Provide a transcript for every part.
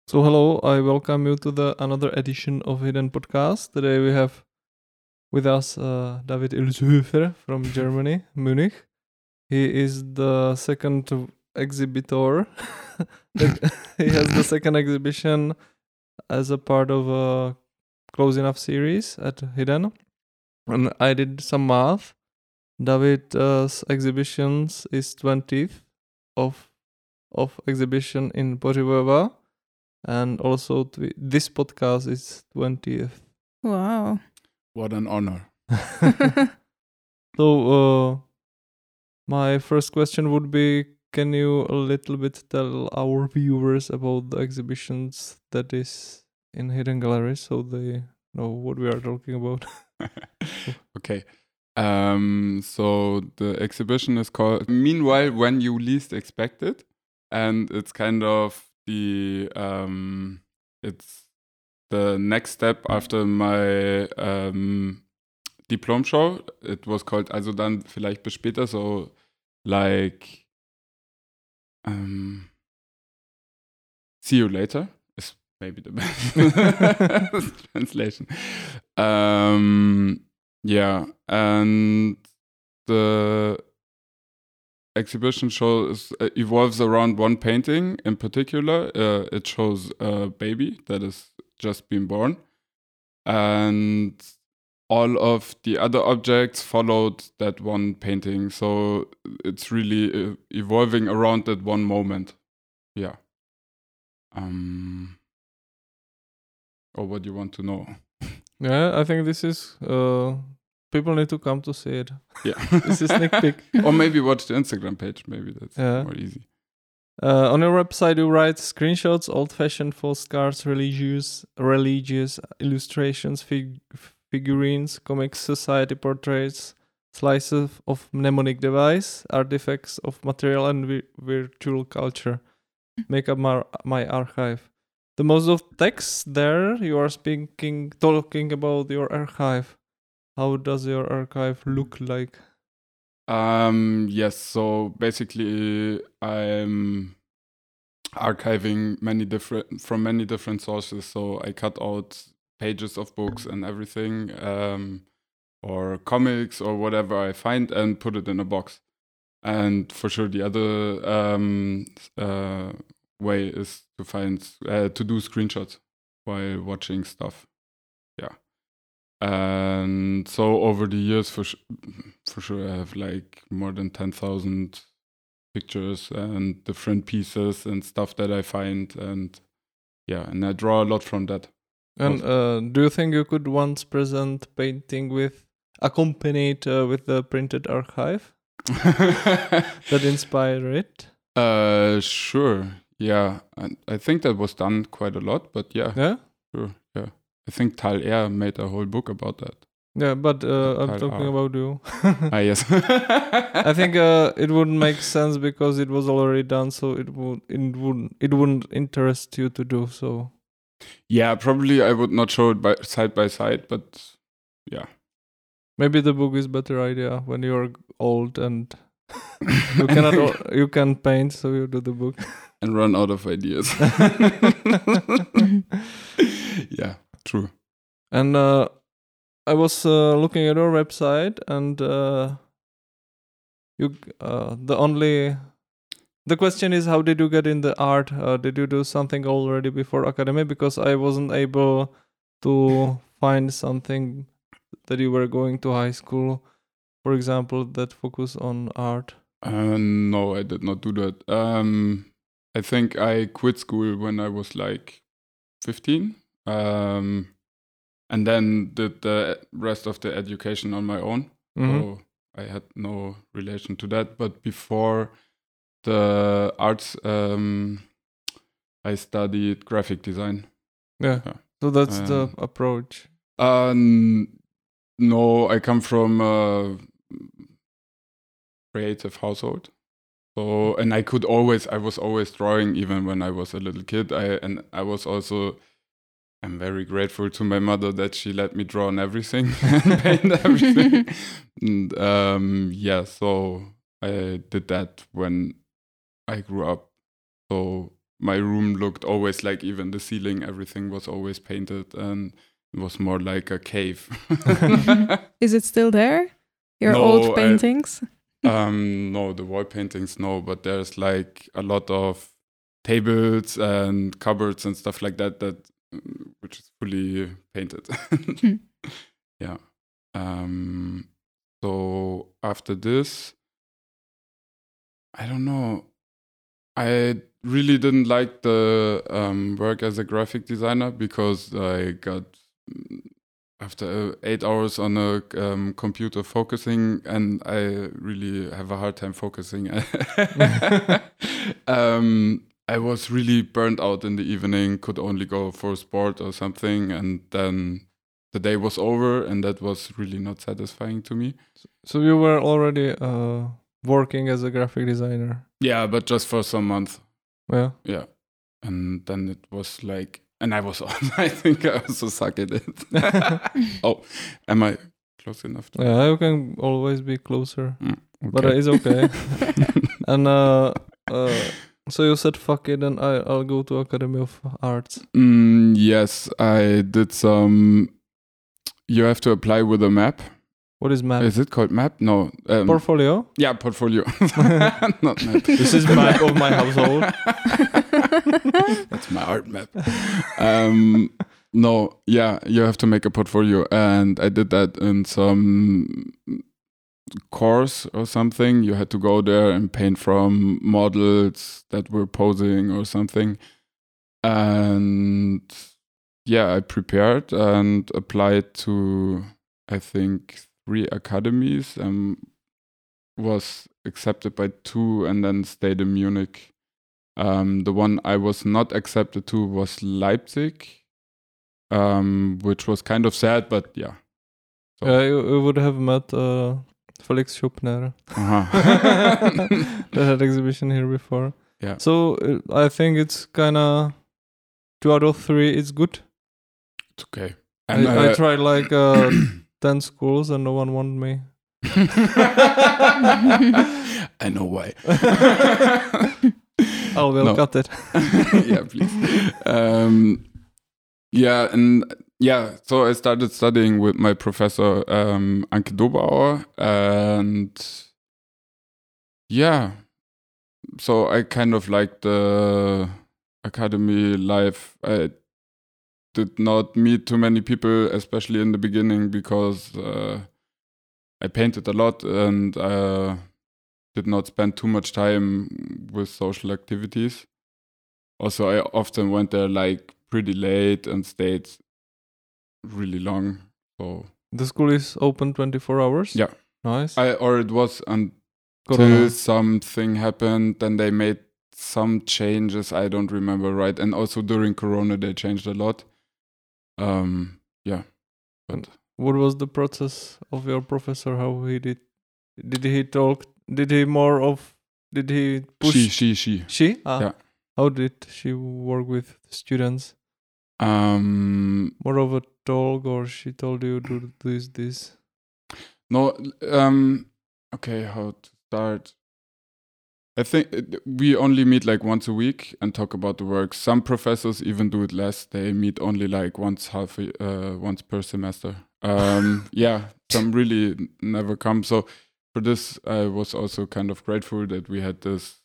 So hello, I welcome you to the another edition of Hidden Podcast. Today we have with us David Ilshöfer from Germany, Munich. He is the second exhibitor. He has the second exhibition as a part of a close enough series at Hidden. And I did some math. David's exhibitions is 20th of exhibition in Pořivoje. And also this podcast is 20th. Wow. What an honor. So my first question would be, can you a little bit tell our viewers about the exhibitions that is in Hidden Gallery so they know what we are talking about? Okay. So the exhibition is called Meanwhile When You Least Expect It. And it's kind of it's the next step after my diplom show. It was called Also dann vielleicht bis später, so like see you later is maybe the best translation. Yeah, and the exhibition evolves around one painting in particular. It shows a baby that has just been born, and all of the other objects followed that one painting. So it's really evolving around that one moment. Yeah. Or what do you want to know? Yeah, I think this is people need to come to see it. Yeah. This is sneak peek. Or maybe watch the Instagram page. Maybe that's more easy. On your website, you write screenshots, old-fashioned postcards, religious illustrations, figurines, comics, society portraits, slices of mnemonic device, artifacts of material and virtual culture make up my archive. The most of texts there, you are talking about your archive. How does your archive look like? Yes, so basically I'm archiving from many different sources. So I cut out pages of books and everything, or comics or whatever I find, and put it in a box. And for sure the other way is to do screenshots while watching stuff. Yeah. And so over the years, for sure, I have like more than 10,000 pictures and different pieces and stuff that I find, and and I draw a lot from that. And do you think you could once present painting accompanied with the printed archive that inspired it? Sure. Yeah, and I think that was done quite a lot, but yeah, sure, yeah. I think Tal Air made a whole book about that. Yeah, but I'm talking about you. Yes. I think it wouldn't make sense because it was already done, so it wouldn't interest you to do so. Yeah, probably I would not show it side by side, but yeah. Maybe the book is better idea when you're old and you can paint, so you do the book and run out of ideas. Yeah, true. And I was looking at your website, and the question is, how did you get in the art? Did you do something already before academy? Because I wasn't able to find something that you were going to high school, for example, that focus on art. No, I did not do that. I think I quit school when I was like 15. And then did the rest of the education on my own. Mm-hmm. So I had no relation to that. But before the arts, I studied graphic design. Yeah. So that's the approach. No, I come from a creative household. So, and I was always drawing even when I was a little kid. I'm very grateful to my mother that she let me draw on everything and paint everything. And so I did that when I grew up. So my room looked always like, even the ceiling, everything was always painted, and it was more like a cave. Is it still there? Your No, old paintings? No, the wall paintings, no, but there's like a lot of tables and cupboards and stuff like that which is fully painted. Yeah. So after this, I don't know. I really didn't like the work as a graphic designer, because I got, after 8 hours on a computer focusing, and I really have a hard time focusing. I was really burnt out in the evening, could only go for sport or something, and then the day was over, and that was really not satisfying to me. So you were already working as a graphic designer? Yeah, but just for some months. Yeah. Yeah. And then it was like, and I was, I think I also suck at it. Oh, am I close enough? Yeah, you can always be closer, Okay. but it's okay. And so you said fuck it, and I'll go to Academy of Arts. Yes, I did some. You have to apply with a map. What is map? Is it called map? No. Portfolio? Yeah, portfolio. Not map. This is map of my household. That's my art map. No, yeah, you have to make a portfolio, and I did that in some course or something. You had to go there and paint from models that were posing or something. And yeah, I prepared and applied to, I think, 3 academies, and was accepted by 2, and then stayed in Munich. The one I was not accepted to was Leipzig, which was kind of sad, but yeah. So. Yeah, you would have met Felix Schuppner. That had exhibition here before. Yeah. So I think it's kind of 2 out of 3 is good. It's okay. And I tried like 10 schools and no one wanted me. I know why. I will cut it. Yeah, please. Yeah, and yeah, so I started studying with my professor Anke Dobauer, and yeah, so I kind of liked the academy life. I did not meet too many people, especially in the beginning, because I painted a lot and did not spend too much time with social activities. Also, I often went there like pretty late and stayed really long. So the school is open 24 hours? Yeah. Nice. Or it was until Corona. something happened, then they made some changes, I don't remember right. And also during Corona they changed a lot. Yeah. But what was the process of your professor? How he did he talk? Did he push? She? Ah. Yeah. How did she work with students? More of a talk, or she told you do this? No, okay, how to start? I think we only meet like once a week and talk about the work. Some professors even do it less. They meet only like once per semester. Yeah, some really never come. So for this, I was also kind of grateful that we had this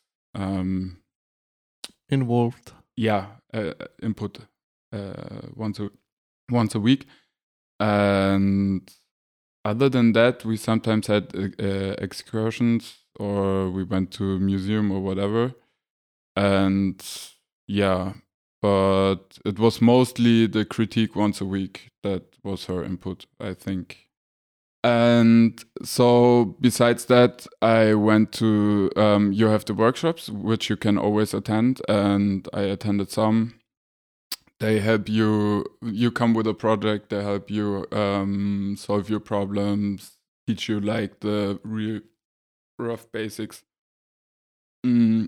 involved. Yeah, input once a week. And other than that, we sometimes had excursions, or we went to a museum or whatever. And yeah, but it was mostly the critique once a week that was her input, I think. And so besides that, I went to, you have the workshops, which you can always attend, and I attended some. They help you come with a project, they help you solve your problems, teach you like the real rough basics. And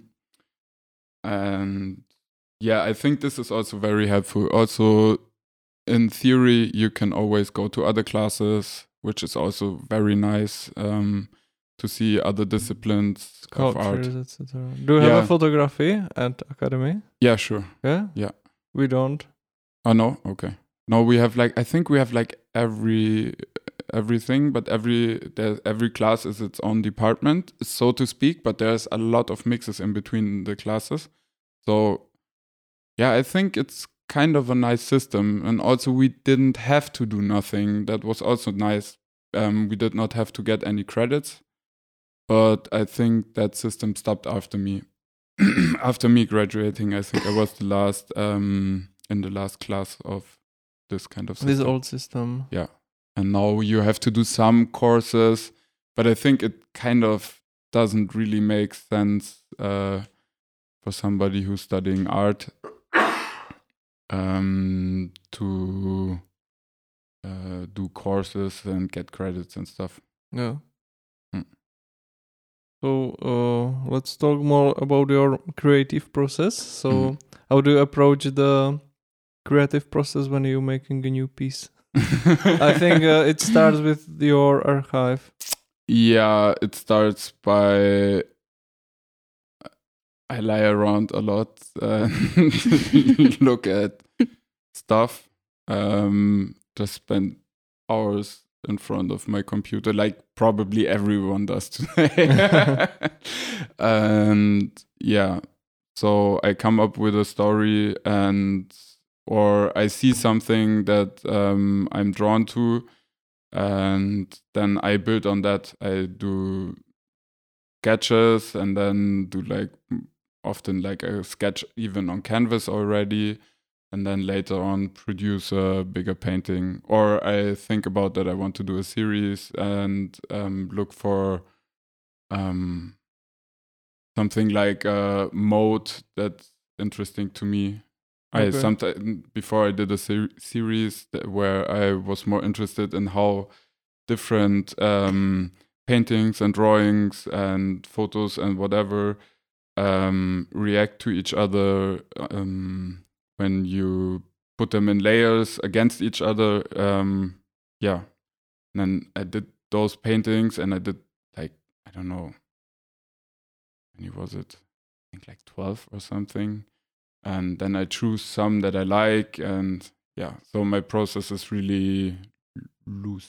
yeah, I think this is also very helpful. Also, in theory, you can always go to other classes, which is also very nice. to see other disciplines of art. Cultures, etc. Do you have Yeah. a photography at academy? Yeah, sure. Yeah. Yeah. We don't. Oh no, okay. No, we have I think we have everything, but every class is its own department, so to speak. But there's a lot of mixes in between the classes. So yeah, I think it's kind of a nice system, and also we didn't have to do nothing. That was also nice. We did not have to get any credits, but I think that system stopped after me. After me graduating, I think I was the last in the last class of this kind of system. This old system. Yeah. And now you have to do some courses, but I think it kind of doesn't really make sense for somebody who's studying art to do courses and get credits and stuff. Yeah. Mm. So let's talk more about your creative process. So how do you approach the creative process when you're making a new piece? I think it starts with your archive. Yeah, it starts by I lie around a lot and look at stuff. Just spend hours in front of my computer, like probably everyone does today. And yeah, so I come up with a story or I see something that I'm drawn to, and then I build on that. I do sketches and then do often a sketch even on canvas already, and then later on produce a bigger painting. Or I think about that I want to do a series and look for something like a mode that's interesting to me. Okay. I sometimes before I did a series where I was more interested in how different paintings and drawings and photos and whatever react to each other when you put them in layers against each other. Yeah, and then I did those paintings, and I did I don't know, how many was it? I think 12 or something. And then I choose some that I like, and yeah, so my process is really loose.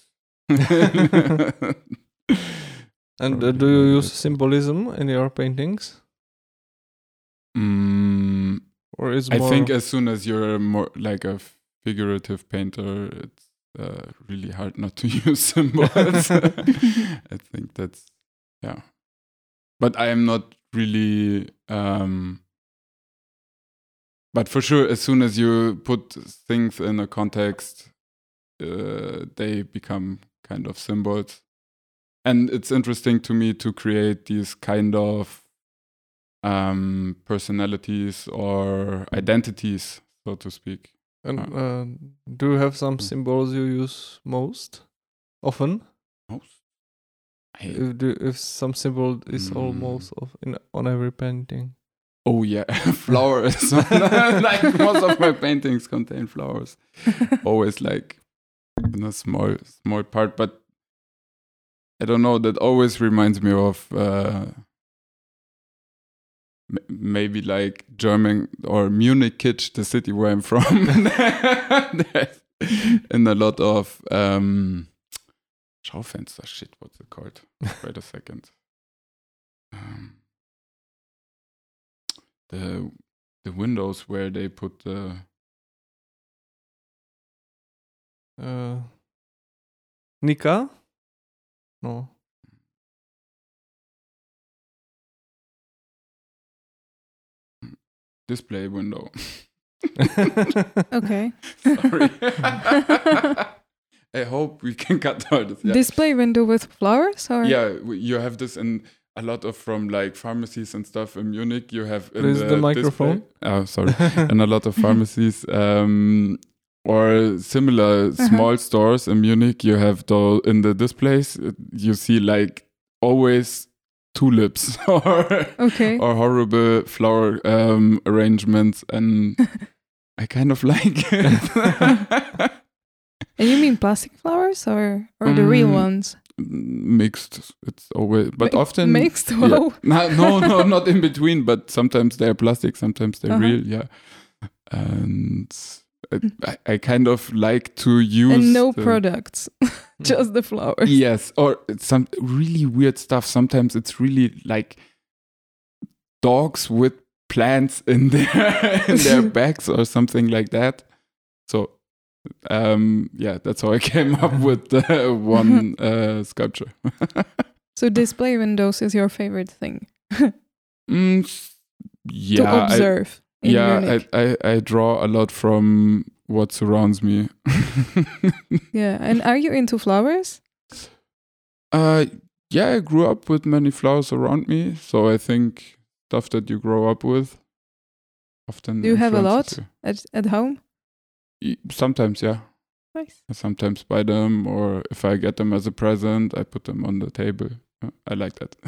And do you use symbolism in your paintings? Or is I more... think as soon as you're more like a figurative painter, it's really hard not to use symbols. I think that's, yeah. But I am not really... But for sure, as soon as you put things in a context, they become kind of symbols. And it's interesting to me to create these kind of personalities or identities, so to speak. And do you have some symbols you use most often? Most? If some symbol is almost on every painting. Oh yeah, flowers. Like most of my paintings contain flowers. Always like in a small part, but I don't know. That always reminds me of maybe like German or Munich kitsch, the city where I'm from. And a lot of Schaufenster. Shit, what's it called? Wait a second. The windows where they put the Nika? No. display window. Okay. Sorry. I hope we can cut out this. Yeah. Display window with flowers, or Yeah, you have this in a lot of from like pharmacies and stuff in Munich. You have in Please, the microphone. Display. Oh, sorry. In a lot of pharmacies or similar small stores in Munich, you have in the displays you see like always tulips or okay. or horrible flower arrangements, and I kind of like it. And you mean plastic flowers or the real ones? mixed. It's always, but often mixed. yeah. Wow. No, not in between. But sometimes they're plastic, sometimes they're real. Yeah, and I kind of like to use and no products, just the flowers. Yes, or some really weird stuff. Sometimes it's really like dogs with plants in their bags or something like that. So that's how I came up with one sculpture. So display windows is your favorite thing yeah, to observe. I draw a lot from what surrounds me. Yeah, and are you into flowers? Yeah, I grew up with many flowers around me, so I think stuff that you grow up with often. Do you have a lot you. at home? Sometimes, yeah. Nice. I sometimes buy them, or if I get them as a present, I put them on the table. I like that.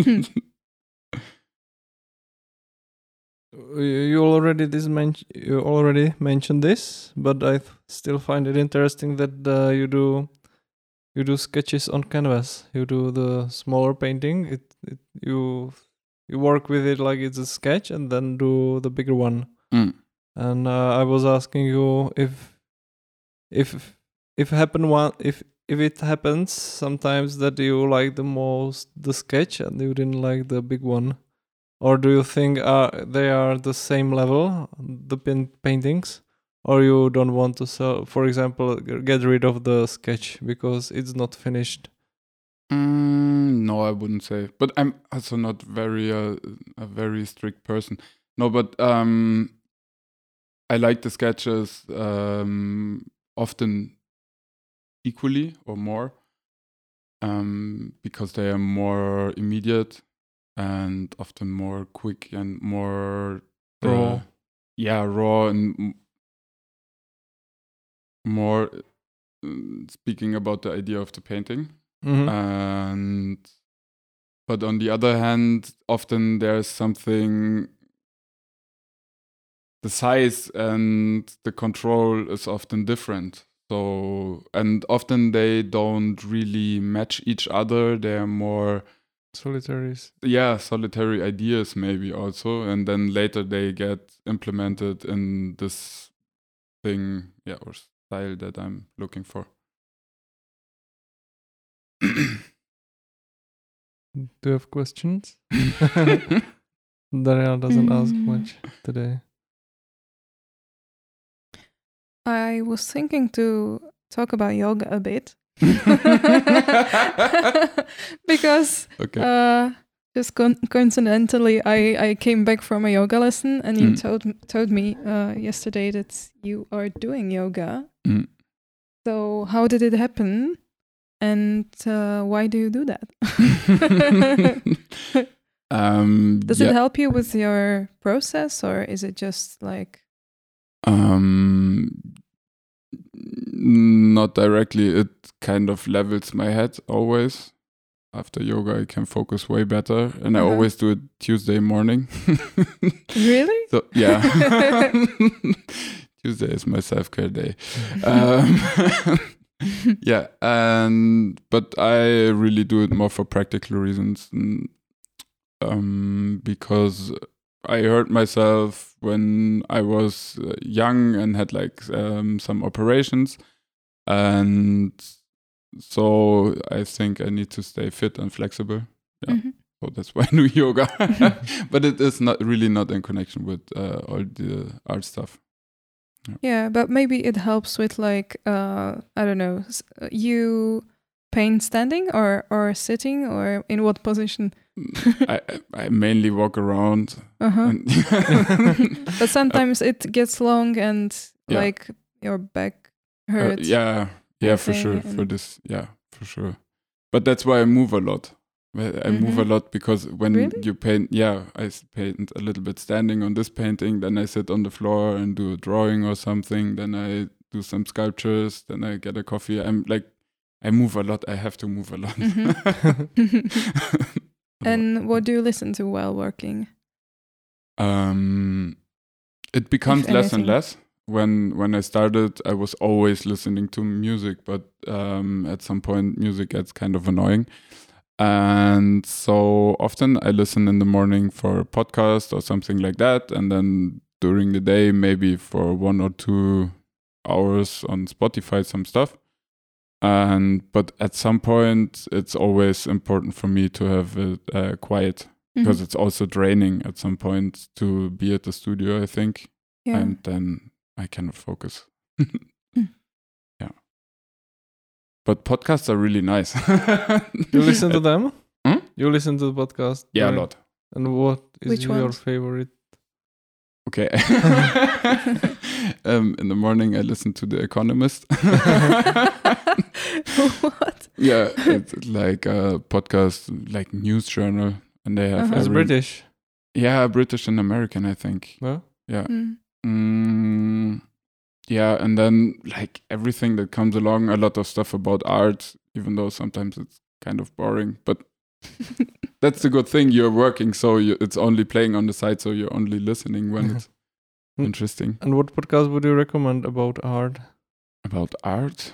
You already mentioned this, but I still find it interesting that you do sketches on canvas. You do the smaller painting. You work with it like it's a sketch, and then do the bigger one. And I was asking you if it happens sometimes that you like the most the sketch and you didn't like the big one. Or do you think they are the same level, the paintings? Or you don't want to sell, for example, get rid of the sketch because it's not finished? No, I wouldn't say. But I'm also not a very strict person. No, but I like the sketches often equally or more because they are more immediate and often more quick and more raw. Raw and more speaking about the idea of the painting. Mm-hmm. But on the other hand, often there's something, the size and the control is often different. So, and often they don't really match each other. They're more solitaries. Yeah, solitary ideas maybe also. And then later they get implemented in this thing, or style that I'm looking for. Do you have questions? Daria doesn't ask much today. I was thinking to talk about yoga a bit. Because just coincidentally I came back from a yoga lesson and you told me yesterday that you are doing yoga. So how did it happen and why do you do that? Does it help you with your process or is it just like not directly. It kind of levels my head always. After yoga, I can focus way better. And I always do it Tuesday morning. Really? So, yeah. Tuesday is my self-care day. Yeah. But I really do it more for practical reasons. Because I hurt myself when I was young and had like some operations, and so I think I need to stay fit and flexible. Yeah, so that's why I do yoga. But it is not in connection with all the art stuff. Yeah, but maybe it helps with like I don't know. You paint standing or sitting or in what position? I mainly walk around. But sometimes it gets long and like your back hurts. For sure. For this, for sure. But that's why I move a lot. I move a lot because when you paint, I paint a little bit standing on this painting, then I sit on the floor and do a drawing or something, then I do some sculptures, then I get a coffee. I move a lot. I have to move a lot. And what do you listen to while working? It becomes less and less. when I started, I was always listening to music, but at some point, music gets kind of annoying. And so often I listen in the morning for a podcast or something like that. And then during the day, maybe for 1 or 2 hours on Spotify, some stuff. But at some point, it's always important for me to have it quiet, because it's also draining at some point to be at the studio, I think. Yeah. And then I cannot focus. Yeah. But podcasts are really nice. You listen to them? You listen to the podcast? Yeah, a lot. And what is Which your ones? favorite? Okay. In the morning, I listen to The Economist. What? Yeah, it's like a podcast, like news journal, and they have. It's British. Yeah, British and American, I think. Well? Yeah. Yeah, and then like everything that comes along, a lot of stuff about art, even though sometimes it's kind of boring, but that's the good thing. You're working, so it's only playing on the side, so you're only listening when it's interesting. And what podcast would you recommend about art? About art?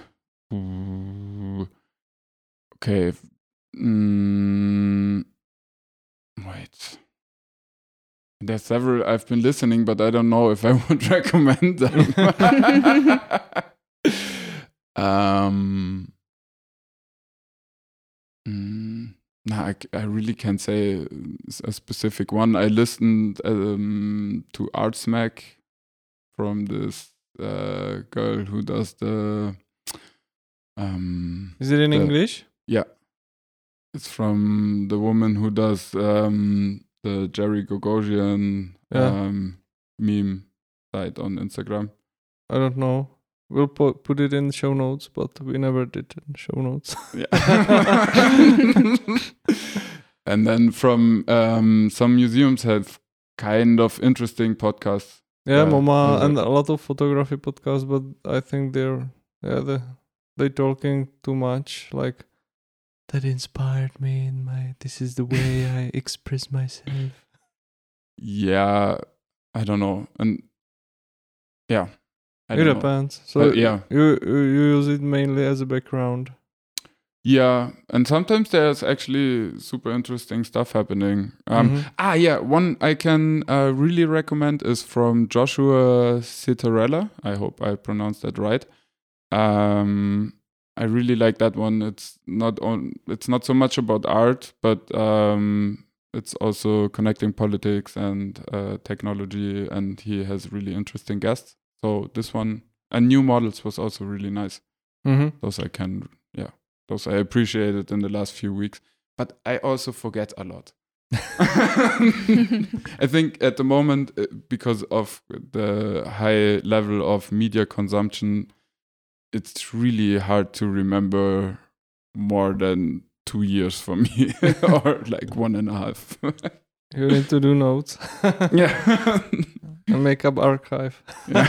Okay. Wait. There's several I've been listening, but I don't know if I would recommend them. I really can't say a specific one. I listened to Art Smack from this girl who does the. Is it in English? Yeah, it's from the woman who does the Jerry Gogosian meme site on Instagram. I don't know. We'll put it in the show notes, but we never did in show notes. Yeah. And then from some museums have kind of interesting podcasts. Yeah, MoMA and a lot of photography podcasts, but I think they're talking too much. Like, that inspired me in this is the way I express myself. Yeah, I don't know. And yeah. It depends. So yeah, you use it mainly as a background. Yeah, and sometimes there's actually super interesting stuff happening. One I can really recommend is from Joshua Citarella. I hope I pronounced that right. I really like that one. It's not so much about art, but it's also connecting politics and technology, and he has really interesting guests. So this one, and New Models, was also really nice. Those I appreciated in the last few weeks, but I also forget a lot. I think at the moment, because of the high level of media consumption, it's really hard to remember more than 2 years for me, or like 1.5. You need to do notes. Yeah. A makeup archive.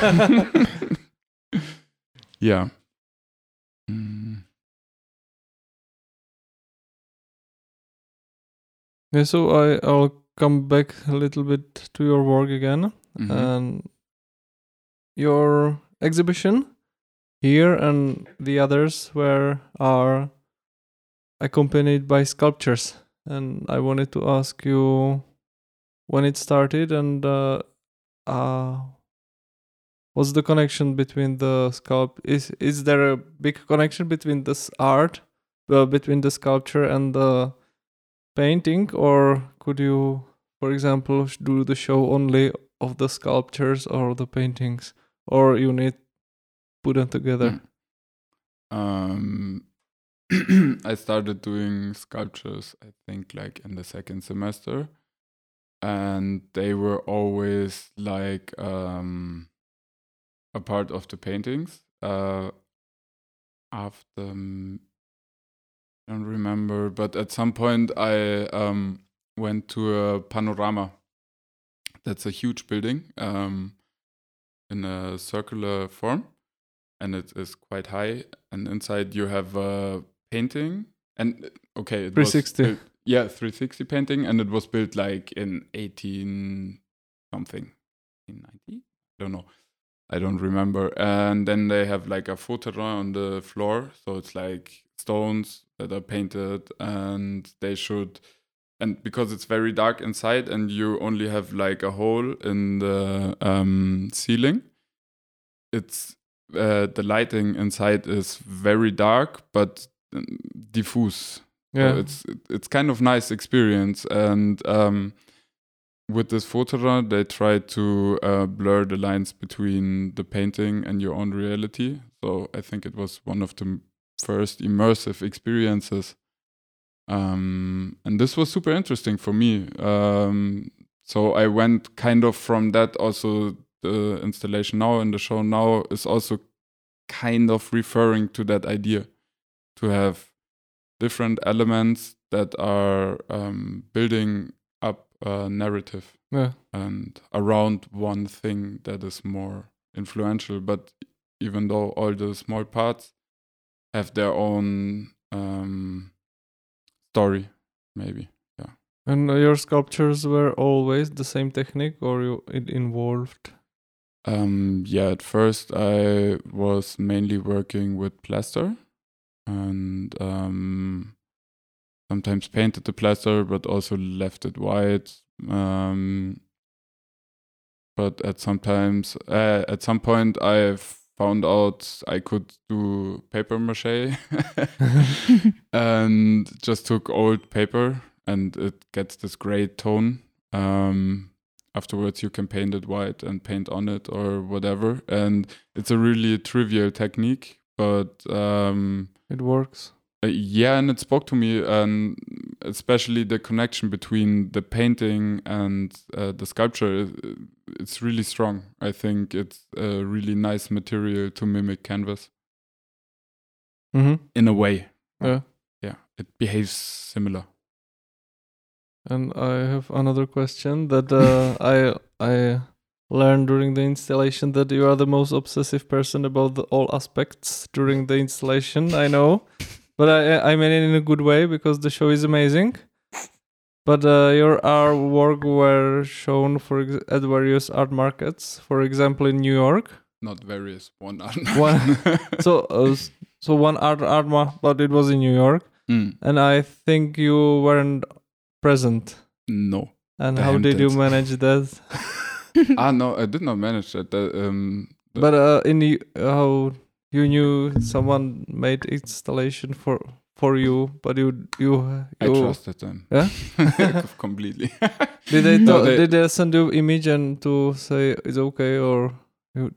Yeah. Yeah, so I'll come back a little bit to your work again. And your exhibition here and the others are accompanied by sculptures. And I wanted to ask you when it started and what's the connection between the is there a big connection between this art, between the sculpture and the painting, or could you, for example, do the show only of the sculptures or the paintings, or you need put them together? I started doing sculptures, I think, like in the second semester, and they were always like a part of the paintings. After I don't remember, but at some point I went to a panorama. That's a huge building in a circular form, and it is quite high. And inside you have a painting, and okay, it 360. was 360 painting, and it was built like in 18 something, 1890, I don't know. I don't remember. And then they have like a photoran on the floor. So it's like stones that are painted, and they should, and because it's very dark inside and you only have like a hole in the ceiling, it's the lighting inside is very dark but diffuse. Yeah. So it's kind of nice experience. And with this photoran, they try to blur the lines between the painting and your own reality. So I think it was one of the first immersive experiences. And this was super interesting for me. So I went kind of from that. Also, the installation now and the show now is also kind of referring to that idea, to have different elements that are building up a narrative and around one thing that is more influential. But even though all the small parts have their own story, maybe. Yeah. And your sculptures were always the same technique, or it involved? Yeah, at first I was mainly working with plaster, and sometimes painted the plaster, but also left it white. But at some point I found out I could do paper mache and just took old paper, and it gets this gray tone. Afterwards you can paint it white and paint on it or whatever, and it's a really trivial technique, but it works. Yeah, and it spoke to me, and especially the connection between the painting and the sculpture. It's really strong. I think it's a really nice material to mimic canvas. In a way. Yeah. Yeah, it behaves similar. And I have another question that I learned during the installation, that you are the most obsessive person about all aspects during the installation. I know. But I mean it in a good way, because the show is amazing. But your artwork were shown at various art markets, for example, in New York. Not various, one art market. So one art market, but it was in New York. And I think you weren't present. No. And how did you manage that? No, I did not manage that. But how you knew someone made installation for you, but you I trusted them. Yeah. Completely. Did they send you image and to say it's okay, or you?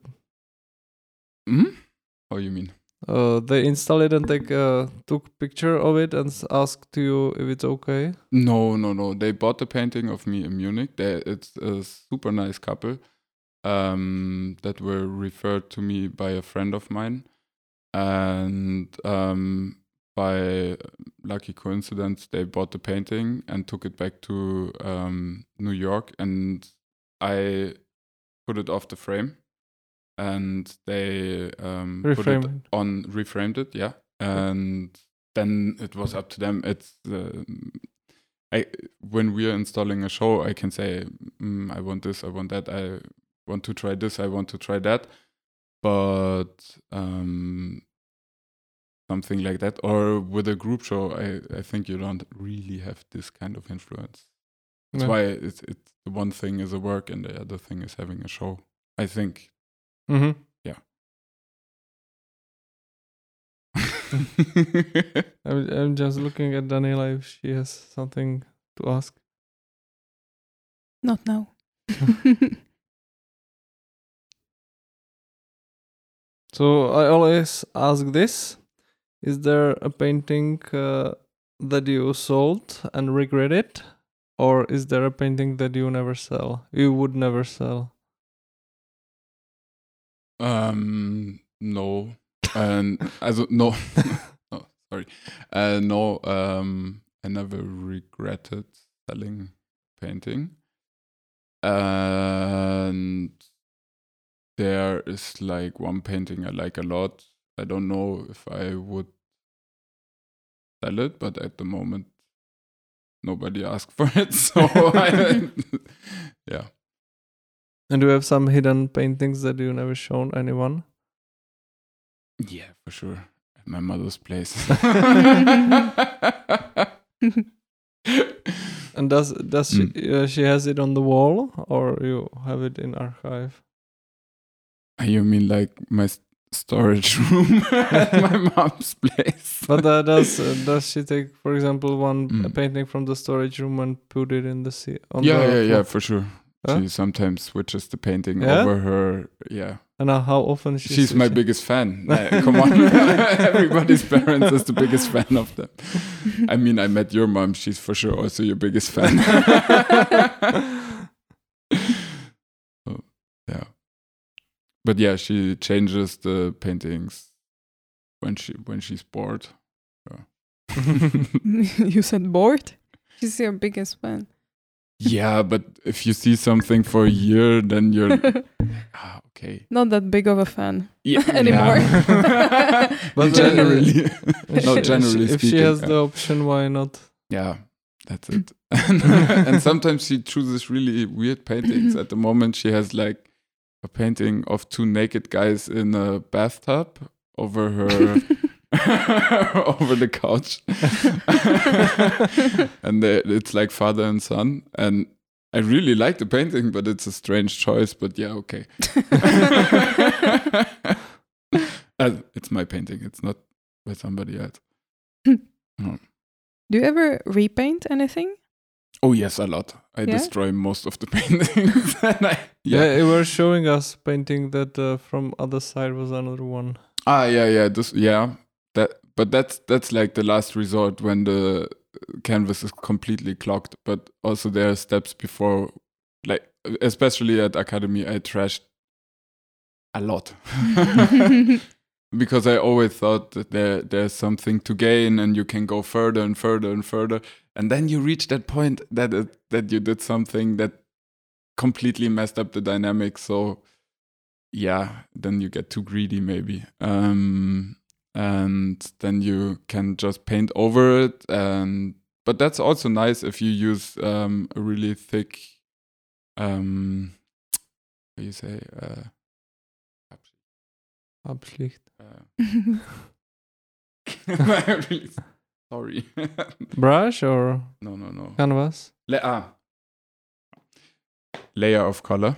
How you mean? They installed it and took picture of it and asked you if it's okay. No. They bought the painting of me in Munich. It's a super nice couple that were referred to me by a friend of mine, and by lucky coincidence, they bought the painting and took it back to New York, and I put it off the frame. And they reframed it, yeah. And then it was up to them. It's when we are installing a show, I can say, I want this, I want that, I want to try this, I want to try that. But something like that, or with a group show, I think you don't really have this kind of influence. That's why it's the one thing is a work and the other thing is having a show, I think. Yeah. I'm just looking at Daniela if she has something to ask. Not now. So I always ask this: is there a painting that you sold and regret it, or is there a painting that you would never sell? No, and also no. Oh, sorry. No. I never regretted selling painting, and there is like one painting I like a lot. I don't know if I would sell it, but at the moment, nobody asked for it, so yeah. And do you have some hidden paintings that you never shown anyone? Yeah, for sure. At my mother's place. And does she has it on the wall, or you have it in archive? You mean like my storage room at my mom's place? But does she take, for example, one painting from the storage room and put it in the sea? Yeah, for sure. Huh? She sometimes switches the painting over her. Yeah. And how often she's my biggest fan. Come on, everybody's parents is the biggest fan of them. I mean, I met your mom. She's for sure also your biggest fan. So, yeah. But yeah, she changes the paintings when she's bored. Yeah. You said bored? She's your biggest fan. Yeah, but if you see something for a year, then you're okay. Not that big of a fan anymore. Yeah. But generally, generally if she has the option, why not? Yeah, that's it. And sometimes she chooses really weird paintings. At the moment, she has like a painting of two naked guys in a bathtub over her. Over the couch. And it's like father and son, and I really like the painting, but it's a strange choice. But yeah, okay. It's my painting, it's not by somebody else. No. Do you ever repaint anything? Oh yes, a lot. I destroy most of the paintings. You were showing us painting that from other side was another one. But that's like the last resort when the canvas is completely clogged. But also there are steps before, like especially at Academy, I trashed a lot because I always thought that there's something to gain and you can go further and further and further, and then you reach that point that you did something that completely messed up the dynamics. So yeah, then you get too greedy maybe. And then you can just paint over it, but that's also nice if you use a really thick how do you say Abschlicht. Really sorry. Brush or no canvas? Layer of color.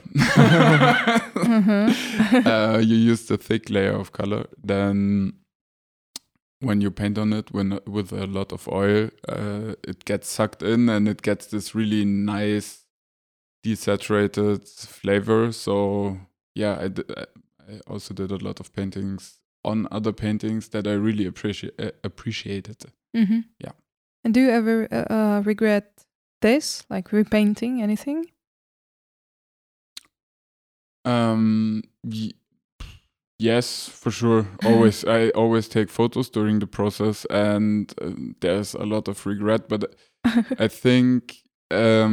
You use the thick layer of color, then when you paint on it with a lot of oil, it gets sucked in and it gets this really nice desaturated flavor. So yeah, I also did a lot of paintings on other paintings that I really appreciated. Mm-hmm. Yeah. And do you ever regret this, like repainting anything? Yes, for sure. I always take photos during the process, and there's a lot of regret. But I think, well,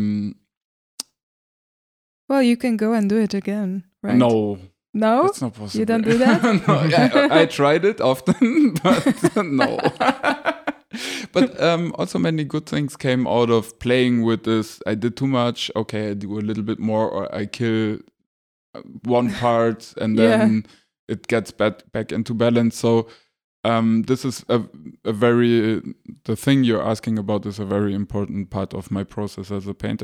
you can go and do it again, right? No, it's not possible. You don't do that? No, I tried it often, but no. But also many good things came out of playing with this. I did too much. Okay, I do a little bit more, or I kill one part and then it gets back into balance. So this is a very the thing you're asking about is a very important part of my process as a painter.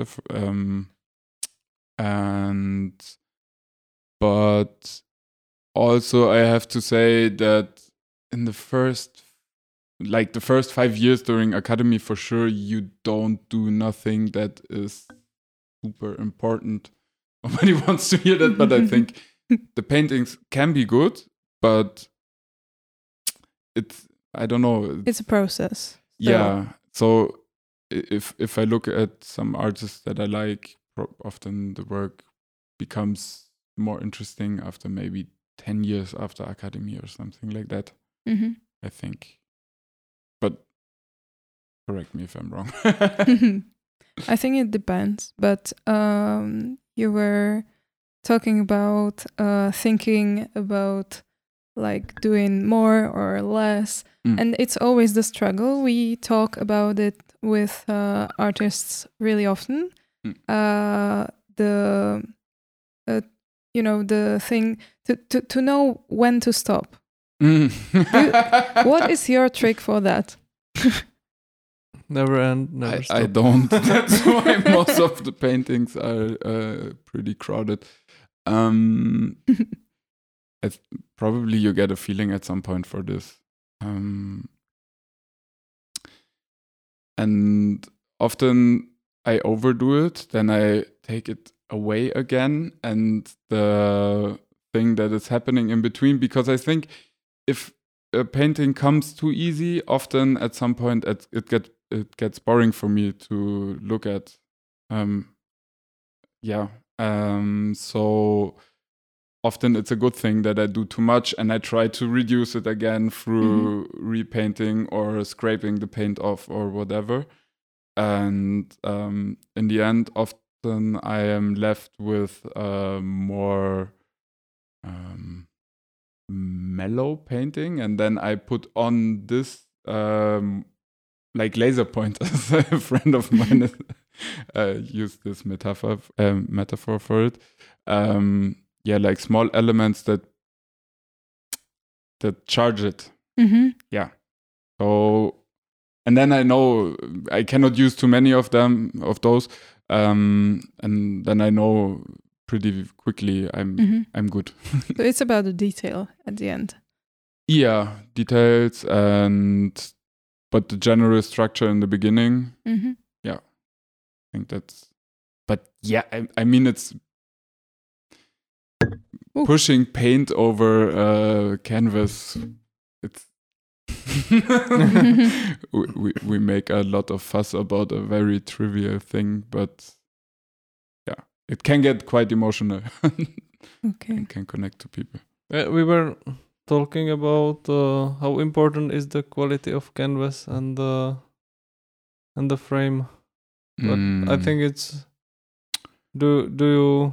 But also I have to say that in the first 5 years during Academy, for sure you don't do nothing that is super important. Nobody wants to hear that, but I think the paintings can be good, but I don't know. It's a process. Yeah. So if I look at some artists that I like, often the work becomes more interesting after maybe 10 years after Academy or something like that. Mm-hmm. I think. But correct me if I'm wrong. I think it depends, but you were talking about thinking about like doing more or less, and it's always the struggle. We talk about it with artists really often. The the thing to know when to stop. What is your trick for that? Never end, never stop. I don't. That's why most of the paintings are pretty crowded. Probably you get a feeling at some point for this. And often I overdo it, then I take it away again, and the thing that is happening in between, because I think if a painting comes too easy, often at some point it gets boring for me to look at. So often it's a good thing that I do too much, and I try to reduce it again through repainting or scraping the paint off or whatever. And in the end, often I am left with more mellow painting, and then I put on this like laser pointers. A friend of mine used this metaphor for it. Like small elements that charge it. Yeah. So, and then I know I cannot use too many of those, and then I know pretty quickly I'm good. So it's about the detail at the end. Yeah, details but the general structure in the beginning. Yeah, I think that's. But yeah, I mean it's. Ooh. Pushing paint over canvas, it's we make a lot of fuss about a very trivial thing, but yeah, it can get quite emotional. Okay, and can connect to people. We were talking about how important is the quality of canvas and the frame, but I think it's do you.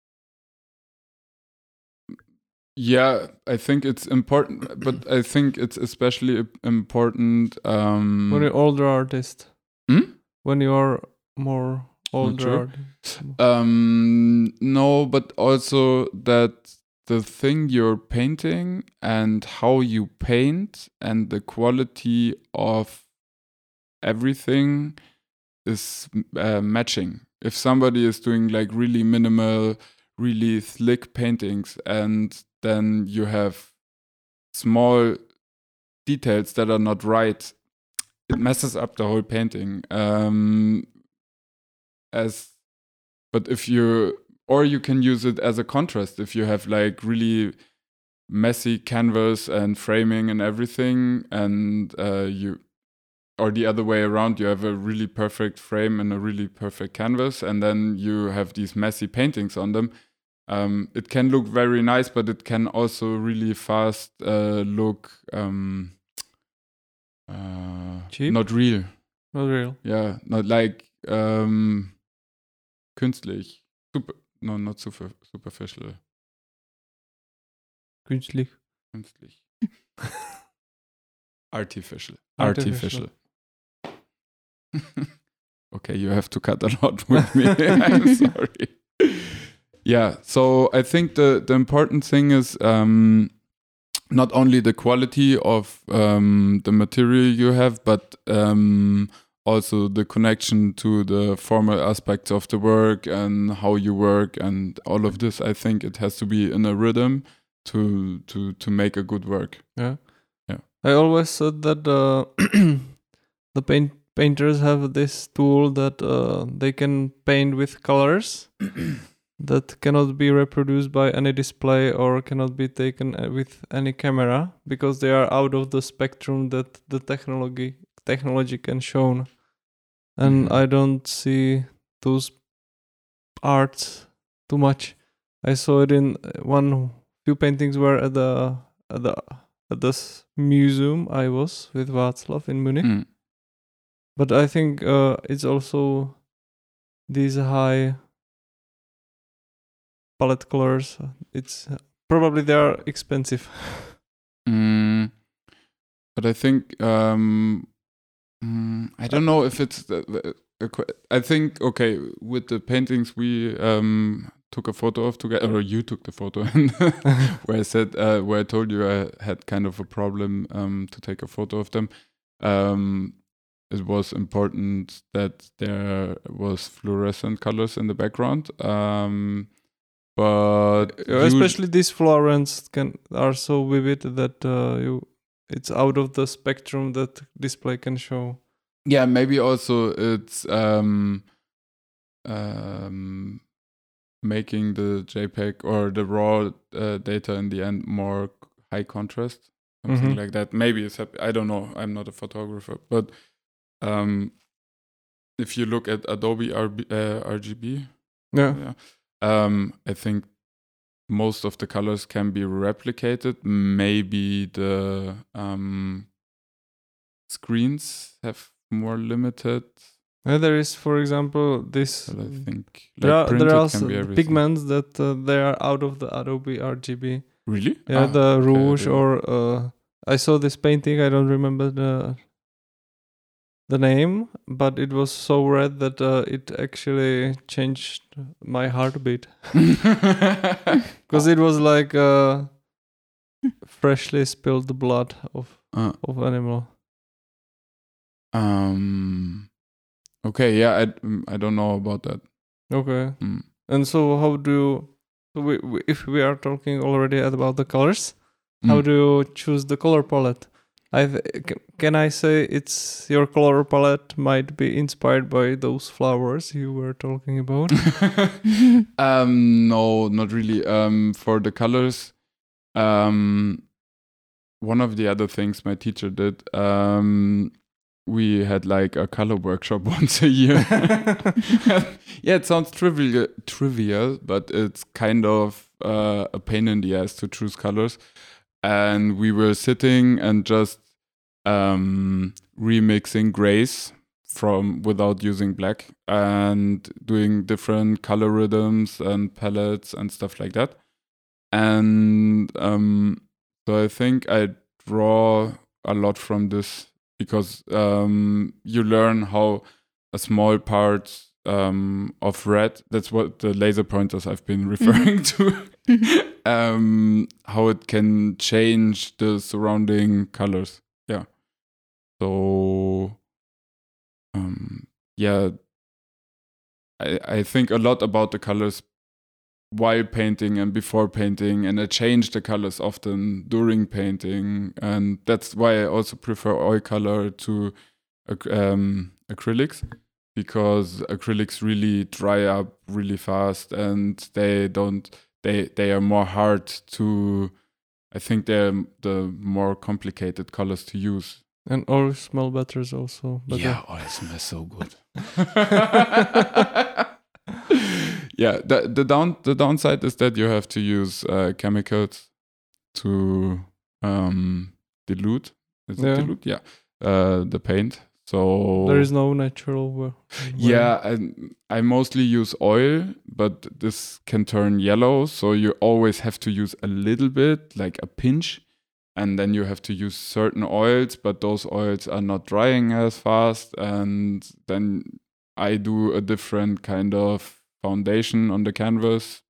Yeah, I think it's important, but I think it's especially important when you're older artist. When you are more older artist. No, but also that the thing you're painting and how you paint and the quality of everything is matching. If somebody is doing like really minimal, really slick paintings, and then you have small details that are not right, it messes up the whole painting. But if you can use it as a contrast. If you have like really messy canvas and framing and everything, and or the other way around, you have a really perfect frame and a really perfect canvas, and then you have these messy paintings on them. It can look very nice, but it can also really fast look cheap? Not real. Not real. Yeah, not like künstlich. Not superficial. Künstlich. Artificial. Okay, you have to cut a lot with me. I'm sorry. Yeah, so I think the important thing is not only the quality of the material you have, but also the connection to the formal aspects of the work and how you work and all of this. I think it has to be in a rhythm to make a good work. Yeah. I always said that the painters have this tool that they can paint with colors that cannot be reproduced by any display or cannot be taken with any camera because they are out of the spectrum that the technology can show. And I don't see those arts too much. I saw it in few paintings were at this museum I was with Václav in Munich. But I think it's also these high palette colors. It's probably they are expensive. But I think I don't know if it's. I think okay with the paintings we took a photo of together, or you took the photo, where I said, where I told you I had kind of a problem to take a photo of them. It was important that there was fluorescent colors in the background. But especially these fluorescents are so vivid that it's out of the spectrum that display can show. Yeah, maybe also it's making the JPEG or the raw data in the end more high contrast, something like that. Maybe it's I don't know. I'm not a photographer, but if you look at Adobe RGB, I think most of the colors can be replicated. Maybe the screens have more limited. There is, for example, this. But I think there are pigments that they are out of the Adobe RGB. Really? Yeah, the rouge or I saw this painting. I don't remember the name, but it was so red that it actually changed my heartbeat because it was like freshly spilled blood of animal. Okay, yeah, I don't know about that. Okay, and so how do you, if we are talking already about the colors, how do you choose the color palette? Can I say it's your color palette might be inspired by those flowers you were talking about? No, not really. For the colors, one of the other things my teacher did, we had like a color workshop once a year. Yeah, it sounds trivial, but it's kind of a pain in the ass to choose colors. And we were sitting and just remixing grays without using black and doing different color rhythms and palettes and stuff like that. And so I think I draw a lot from this because you learn how a small part of red, that's what the laser pointers I've been referring to, how it can change the surrounding colors. Yeah. So, I think a lot about the colors while painting and before painting, and I change the colors often during painting, and that's why I also prefer oil color to acrylics, because acrylics really dry up really fast and they are more hard to, I think they're the more complicated colors to use. And oil smell better also. Yeah, oil smells so good. Yeah, the downside is that you have to use chemicals to dilute. Is it dilute? Yeah, the paint. So there is no natural way. Yeah, I mostly use oil, but this can turn yellow, so you always have to use a little bit, like a pinch, and then you have to use certain oils, but those oils are not drying as fast, and then I do a different kind of foundation on the canvas.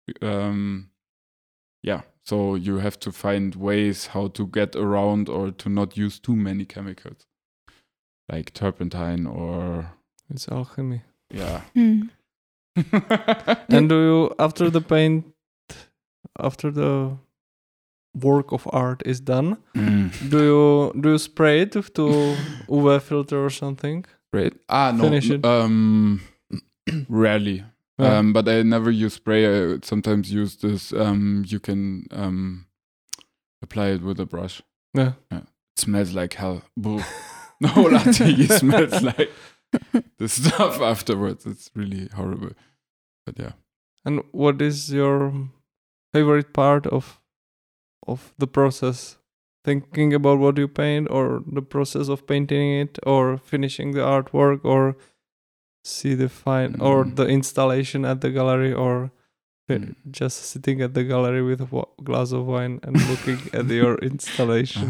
So you have to find ways how to get around or to not use too many chemicals, like turpentine or... It's alchemy. Yeah. And do you, after the work of art is done, do you spray it to UV filter or something? Spray it? No. Finish it? Rarely. Yeah. But I never use spray. I sometimes use this. You can apply it with a brush. Yeah. It smells like hell. The whole atelier smells like the stuff afterwards. It's really horrible. But yeah. And what is your favorite part of the process? Thinking about what you paint, or the process of painting it, or finishing the artwork, or see the or the installation at the gallery, or just sitting at the gallery with a glass of wine and looking at your installation?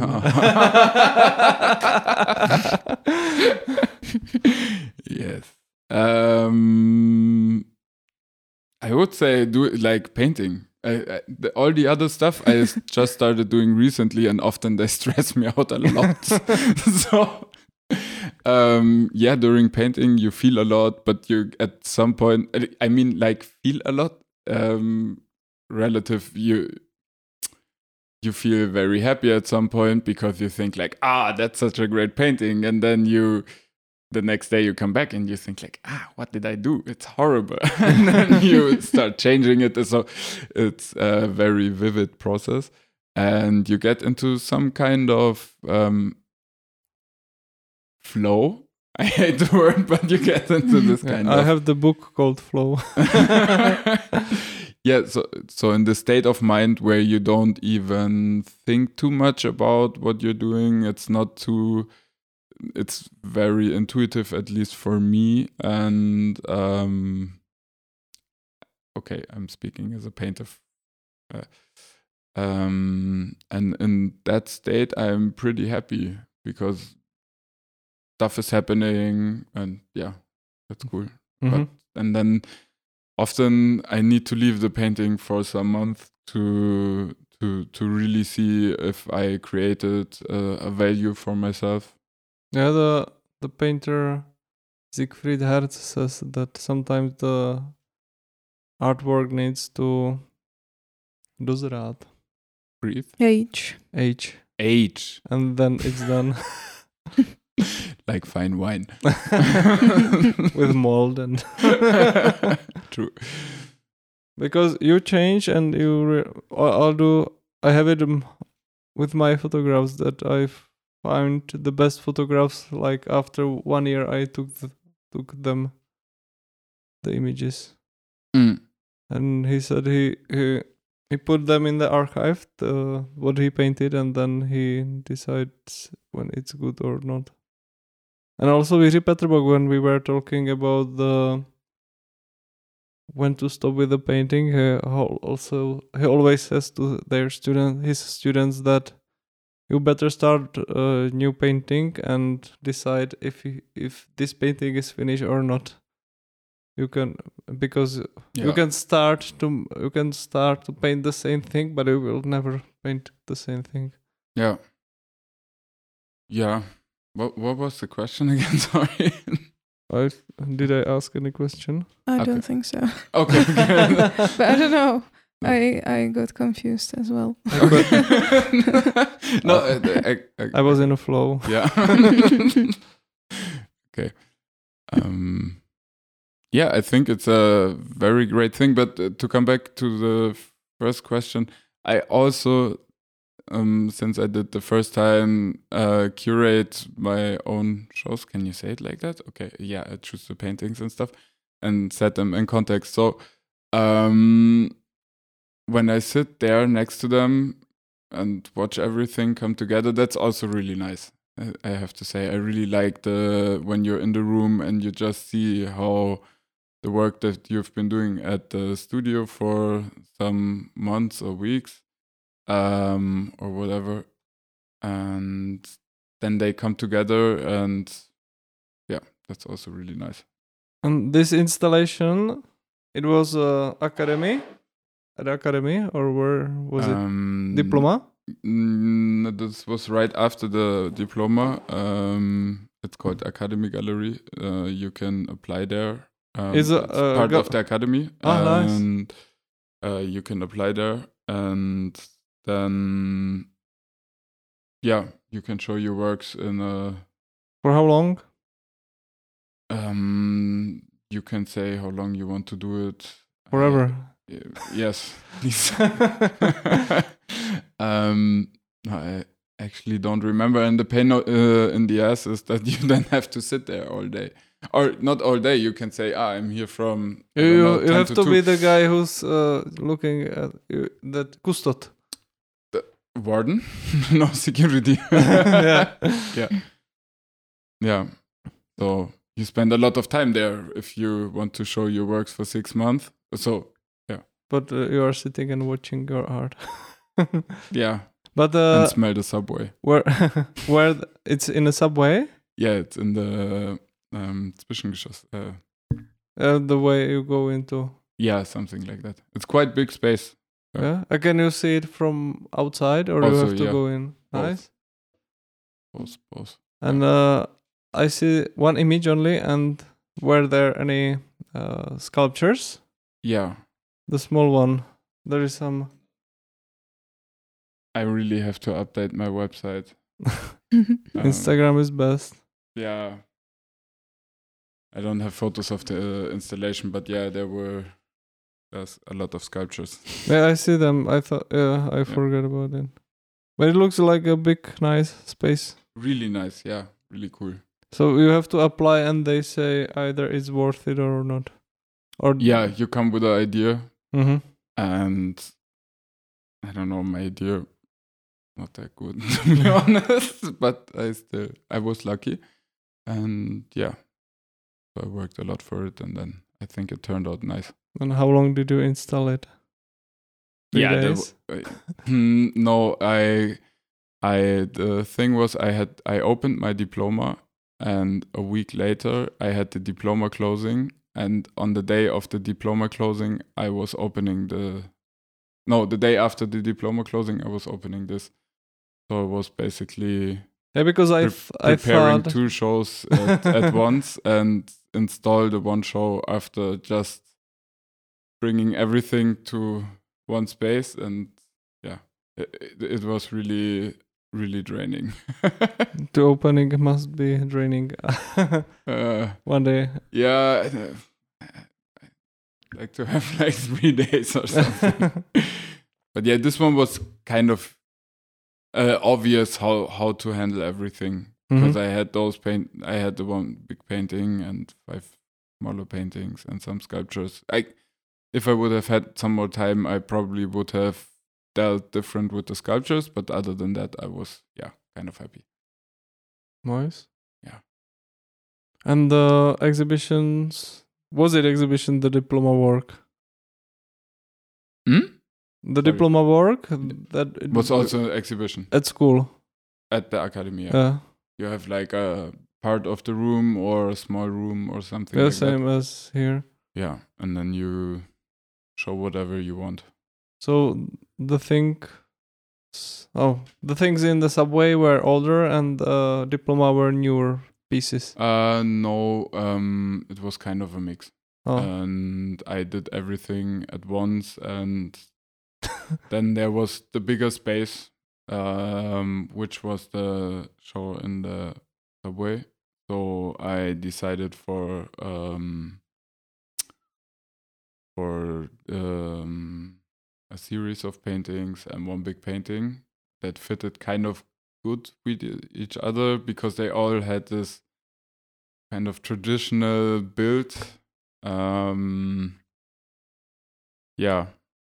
Yes. I would say do it like painting. All the other stuff I just started doing recently, and often they stress me out a lot. So, during painting you feel a lot, but you at some point, I mean, like feel a lot. Relative, you feel very happy at some point because you think like, that's such a great painting, and then the next day you come back and you think like, what did I do? It's horrible. And then you start changing it. So it's a very vivid process. And you get into some kind of flow. I hate the word, but you get into this kind of... I have the book called Flow. Yeah, so in the state of mind where you don't even think too much about what you're doing, it's very intuitive, at least for me. And okay, I'm speaking as a painter. And in that state, I'm pretty happy because stuff is happening, and yeah, that's cool. Mm-hmm. And then often I need to leave the painting for some month to really see if I created a value for myself. Yeah, the painter Siegfried Herz says that sometimes the artwork needs to dozrát. Breathe. Age. And then it's done. Like fine wine. With mold and... True. Because you change and I have it with my photographs that I've found the best photographs like after 1 year I took them, the images. And he said he put them in the archive, what he painted, and then he decides when it's good or not. And also with Peterbog, when we were talking about when to stop with the painting, he always says to his students that you better start a new painting and decide if this painting is finished or not. You can start to paint the same thing, but you will never paint the same thing. Yeah. Yeah. What was the question again? Sorry. Did I ask any question? I don't think so. Okay. But I don't know. I got confused as well. No, I was in a flow. Yeah. Okay. Yeah, I think it's a very great thing. But to come back to the first question, I also, since I did the first time, curate my own shows. Can you say it like that? Okay. Yeah, I choose the paintings and stuff and set them in context. So when I sit there next to them and watch everything come together, that's also really nice. I have to say, I really like when you're in the room and you just see how the work that you've been doing at the studio for some months or weeks, or whatever, and then they come together, and yeah, that's also really nice. And this installation, it was academy, or where was it? Diploma? This was right after the diploma. It's called Academy Gallery. You can apply there. It's part of the academy. And nice. You can apply there, and then you can show your works in a... For how long? You can say how long you want to do it. Forever. Yes, please. I actually don't remember, and the pain in the ass is that you then have to sit there all day. Or not all day, you can say, I'm here from... You have to be the guy who's looking at that custod. The warden? No, security. Yeah. So you spend a lot of time there if you want to show your works for 6 months. So, yeah. But you are sitting and watching your art. Yeah. But and smell the subway. Where it's in a subway? Yeah, it's in the Zwischengeschoss. The way you go into. Yeah, something like that. It's quite big space. Yeah. Can you see it from outside, or Also, you have to yeah. go in? Both. Nice. Both. And I see one image only. And were there any sculptures? Yeah. The small one. There is some. I really have to update my website. Instagram is best. Yeah. I don't have photos of the installation, but yeah, there's a lot of sculptures. Yeah, I see them. I thought, I forgot about it. But it looks like a big, nice space. Really nice, yeah, really cool. So you have to apply, and they say either it's worth it or not. Or yeah, you come with an idea, and I don't know, my idea not that good to be honest, but I was lucky, and yeah, so I worked a lot for it, and then I think it turned out nice. And how long did you install it? 3 days? No, the thing was I opened my diploma, and a week later I had the diploma closing, and on the day of the diploma closing I was opening the day after the diploma closing I was opening this. So it was basically because I preparing thought 2 shows at once and install the one show after just bringing everything to one space, and yeah, it was really, really draining. The opening must be draining. One day. Yeah, I'd like to have like 3 days or something. But yeah, this one was kind of obvious how to handle everything, because I had I had the one big painting and 5 smaller paintings and some sculptures. If I would have had some more time, I probably would have dealt different with the sculptures, but other than that, I was kind of happy. Nice. Yeah. And the exhibitions, was it exhibition, the diploma work? The diploma work that it was also an exhibition at school, at the academy. Yeah. You have like a part of the room or a small room or something. Yeah, like same that. as here. Yeah, and then you show whatever you want. So the things in the subway were older, and the diploma were newer pieces. No, it was kind of a mix. Oh. And I did everything at once, and then there was the bigger space, which was the show in the subway. So I decided for a series of paintings and one big painting that fitted kind of good with each other, because they all had this kind of traditional build. Yeah.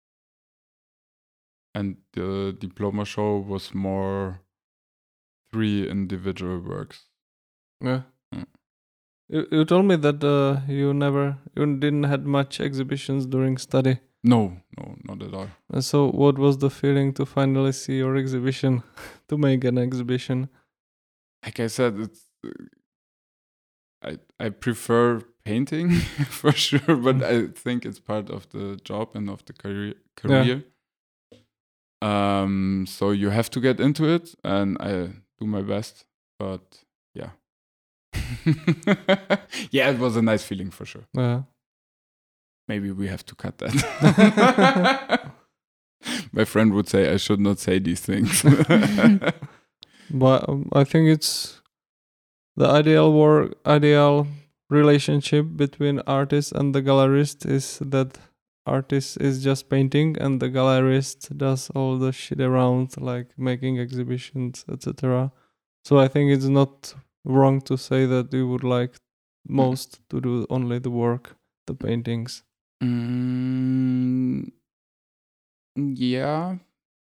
And the diploma show was more 3 individual works. Yeah. You told me that you didn't had much exhibitions during study. No, not at all. And so what was the feeling to finally see your exhibition, to make an exhibition? Like I said, it's I prefer painting for sure, but I think it's part of the job and of the career. Yeah. So you have to get into it, and I do my best, but yeah. Yeah, it was a nice feeling for sure. Yeah. Maybe we have to cut that. My friend would say I should not say these things. But I think it's the ideal relationship between artist and the gallerist is that artist is just painting and the gallerist does all the shit around, like making exhibitions, etc. So I think it's not wrong to say that you would like most to do only the work, the paintings. Yeah.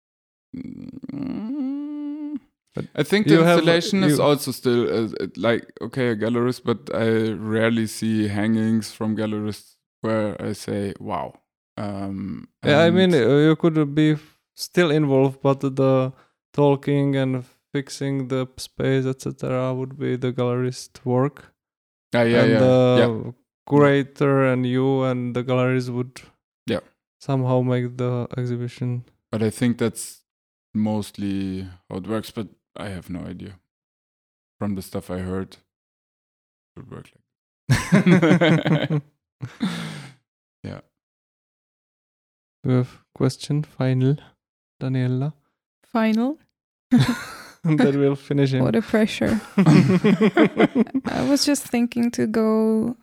But I think the installation is also still like, okay, a gallerist, but I rarely see hangings from gallerists where I say, wow. Yeah, I mean, you could be still involved, but the talking and fixing the space, etc., would be the gallerist work. Yeah. Curator and you and the galleries would somehow make the exhibition. But I think that's mostly how it works, but I have no idea. From the stuff I heard, it would work like yeah. We have question, final, Daniela. Final? That will finish him. What a pressure. I was just thinking to go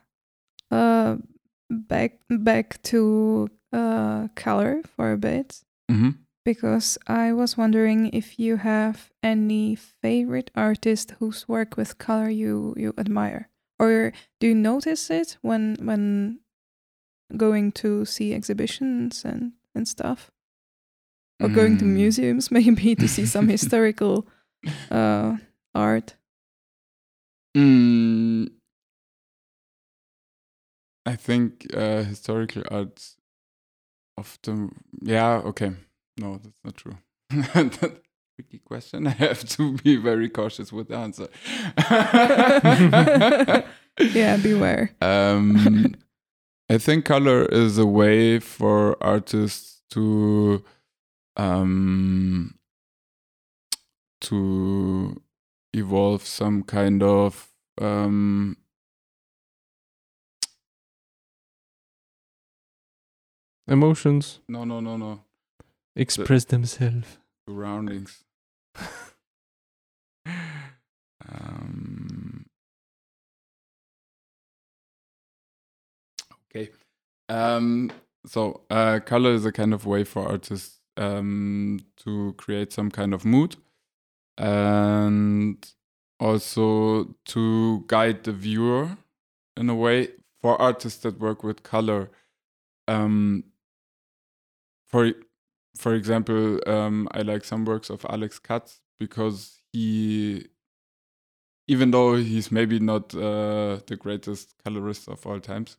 back to color for a bit. Mm-hmm. Because I was wondering if you have any favorite artist whose work with color you admire, or do you notice it when going to see exhibitions and stuff, or going to museums maybe to see some historical art? I think historical art often, okay. No, that's not true. That's a tricky question. I have to be very cautious with the answer. Yeah, beware. I think color is a way for artists to evolve some kind of emotions. No. Express themselves. Surroundings. Okay. So color is a kind of way for artists to create some kind of mood and also to guide the viewer in a way. For artists that work with color, for example, I like some works of Alex Katz because he, even though he's maybe not the greatest colorist of all times,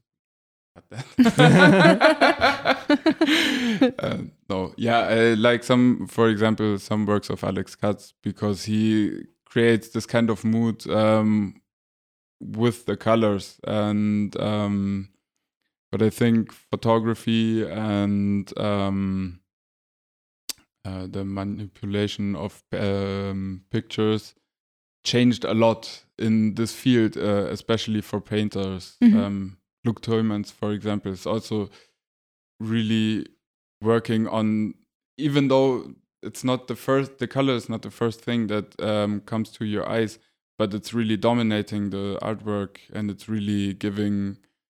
I like for example, some works of Alex Katz because he creates this kind of mood with the colors, and but I think photography and the manipulation of pictures changed a lot in this field, especially for painters. Mm-hmm. Luc Tuymans, for example, is also really working on, even though it's not the color is not the first thing that comes to your eyes, but it's really dominating the artwork, and it's really giving,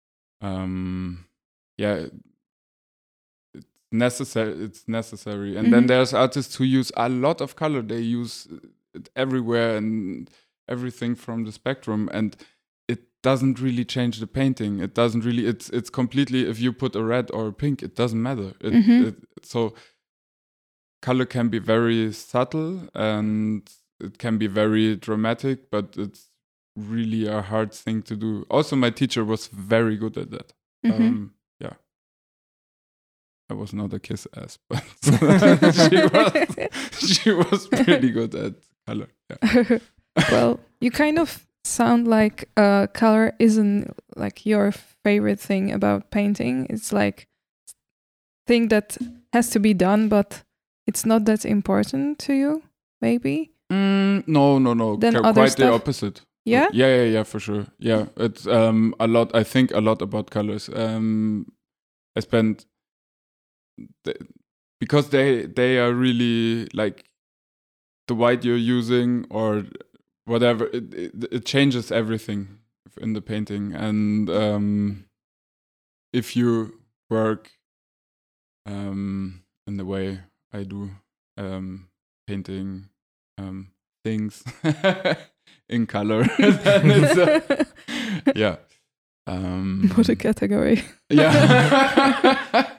it's necessary. And then there's artists who use a lot of color. They use it everywhere and everything from the spectrum, and it doesn't really change the painting. It doesn't really, it's completely, if you put a red or a pink, it doesn't matter. So color can be very subtle and it can be very dramatic, but it's really a hard thing to do. Also, my teacher was very good at that. I was not a kiss ass, but she was pretty good at color. Yeah. Well, you kind of sound like color isn't like your favorite thing about painting. It's like thing that has to be done, but it's not that important to you, maybe? No. Then quite the opposite. Yeah? Yeah, for sure. Yeah, it's a lot. I think a lot about colors. I spent because they are really like the white you're using or whatever. It changes everything in the painting, and if you work in the way I do, painting things in color, then it's yeah. What a category. Yeah.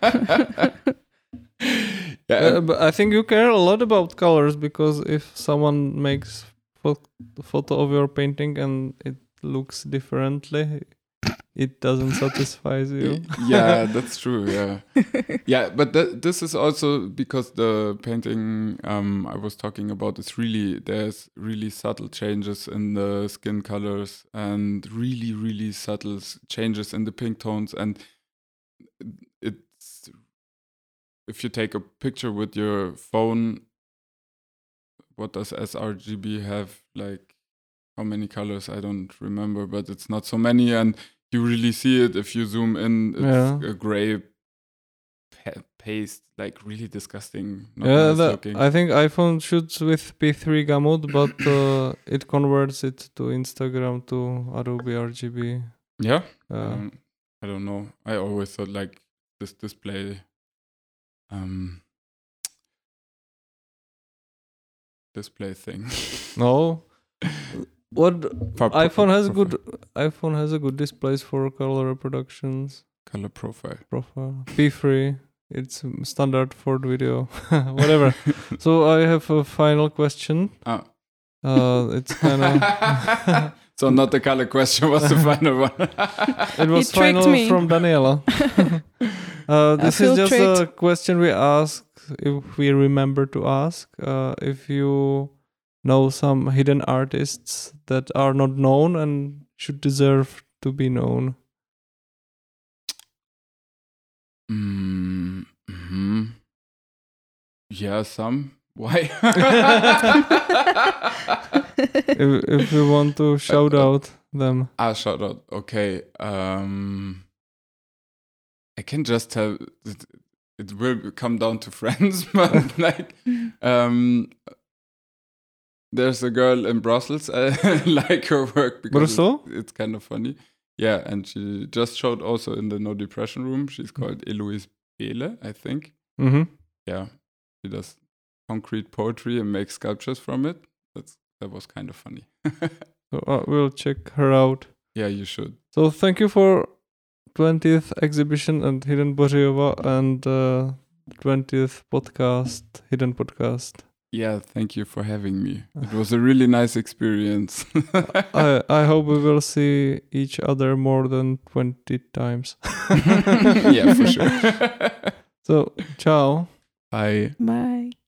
But I think you care a lot about colors, because if someone makes a photo of your painting and it looks differently, it doesn't satisfy you. Yeah, that's true. Yeah, yeah. But this is also because the painting I was talking about is there's really subtle changes in the skin colors and really, really subtle changes in the pink tones, and it's if you take a picture with your phone, what does sRGB have? Like, how many colors? I don't remember, but it's not so many, and you really see it if you zoom in. It's a gray paste, like really disgusting. Not nice looking. I think iPhone shoots with P3 gamut, but it converts it to Instagram to Adobe RGB. Yeah. I don't know. I always thought like this display. Display thing. No. What iPhone has a good displays for color reproductions. Color profile. P3. It's standard for the video. Whatever. So I have a final question. It's kind of so not the color question was the final one. It was final from Daniela. This is just a question we ask if we remember to ask. If you know some hidden artists that are not known and should deserve to be known. Yeah, some. Why? if you want to shout out them. Shout out. Okay. I can just tell it will come down to friends, but like there's a girl in Brussels. I like her work because it's kind of funny. Yeah, and she just showed also in the No Depression room. She's called Eloise Behle, I think. Mm-hmm. Yeah, she does concrete poetry and makes sculptures from it. That was kind of funny. So we'll check her out. Yeah, you should. So thank you for 20th exhibition at Hidden Bořiova and 20th podcast, Hidden Podcast. Yeah, thank you for having me. It was a really nice experience. I hope we will see each other more than 20 times. Yeah, for sure. So, ciao. Bye. Bye.